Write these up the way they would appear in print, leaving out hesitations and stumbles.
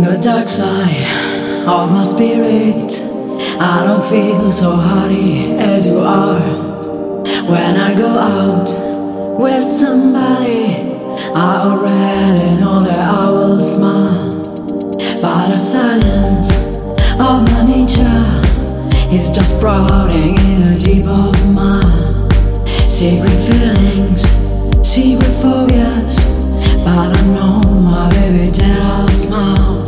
the dark side of my spirit, I don't feel so hardy as you are. When I go out with somebody, I already know that I will smile. But the silence of my nature is just sprouting in a deep of mine. Secret feelings, secret phobias, but I know my baby that I'll smile.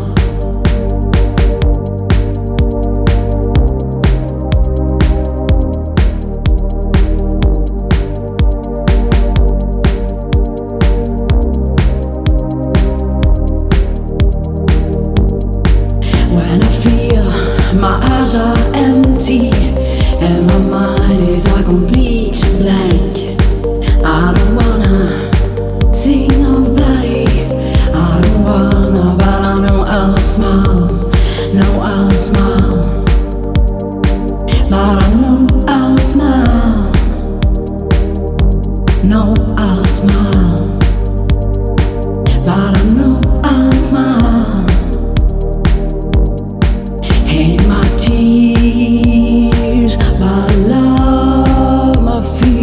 When I feel my eyes are empty and my mind is a complete blank, I don't wanna see nobody, I don't wanna, but I know I'll smile, know I'll smile, but I know I'll smile, know I'll smile, but I know I'll smile. Hate my tears, but I love my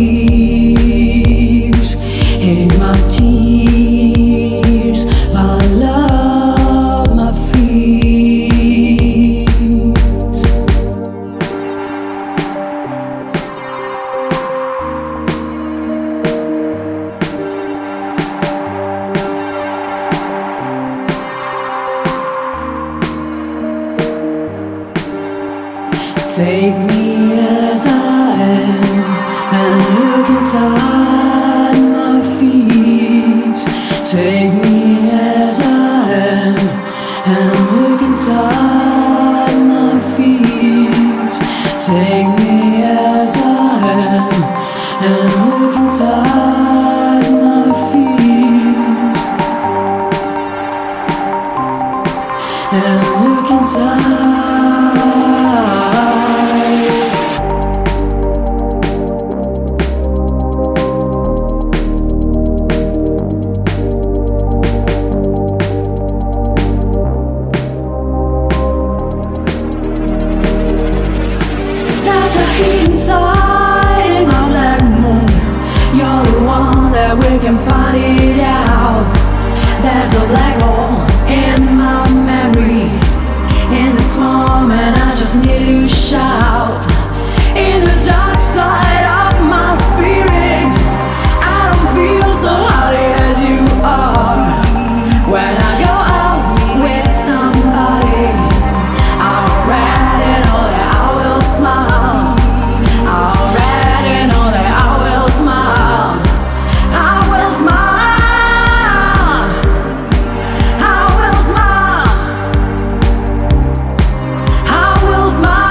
fears. Hate my tears, but I love my fears. Take me as I am and look inside my fears. Take me as I am and look inside my fears. Take me as I am and look inside my fears. And look inside. Inside my black moon, you're the one that we can find it out. There's a black hole in my memory. In this moment, I just need to shout. In the dark side of my spirit, I don't feel so hardy as you are. When I go out with somebody, I already know that I will smile. I already know that I will smile. I will smile. I will smile. I will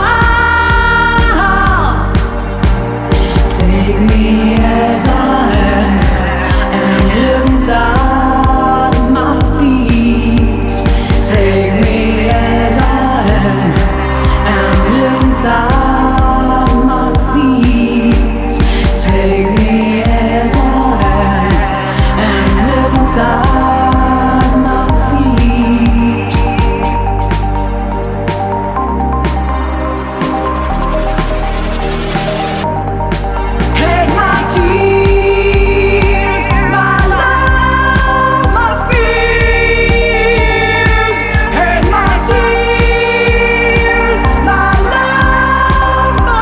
smile. Take me as I am and look inside my fears. Take me as I am and look inside. Take me as I am and look inside my fears. Hate my tears, my love, my fears. Hate my tears, my love, my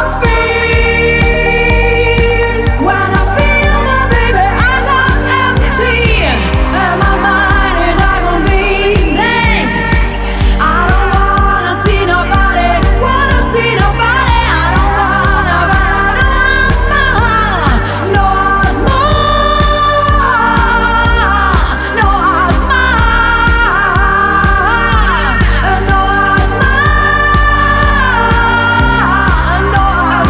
fears. When I feel my baby eyes are empty and my mind is a complete blank, I don't wanna see nobody, wanna see nobody. I don't wanna, but I know I'll smile, know I'll smile, know I'll smile, know I'll smile, know I'll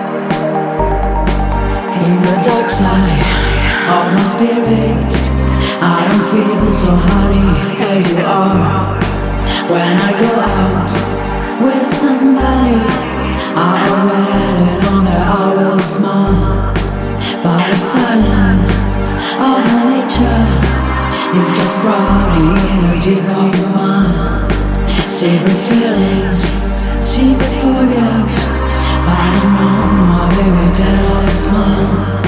In the dark side of my spirit, I don't feel so haughty as you are. When I go out with somebody, I already know that I will smile. But the silence of my nature is just rotting energy of your mind. Secret feelings, secret phobias, I don't know my baby till I smile.